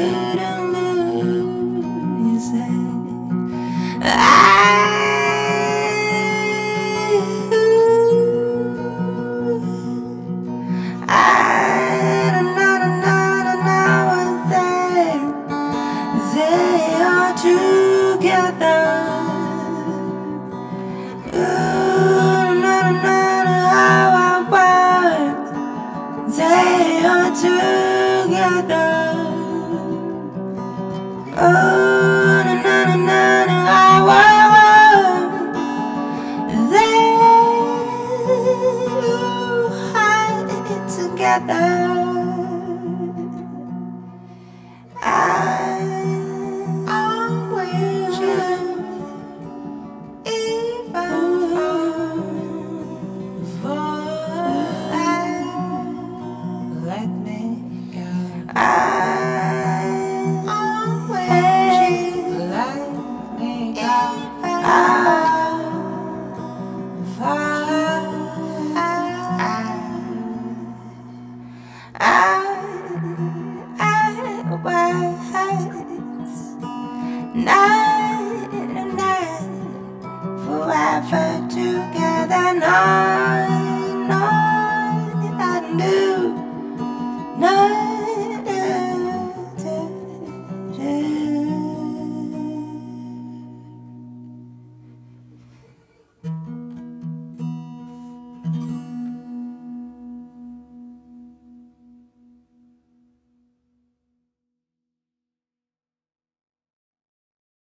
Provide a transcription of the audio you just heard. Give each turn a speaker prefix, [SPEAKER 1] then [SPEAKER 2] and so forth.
[SPEAKER 1] couldn't lose it. I don't know what they are together. How about they are together. Oh, how they hide together. I'm with you, even for let me go. I'm with you, let me go. I was now.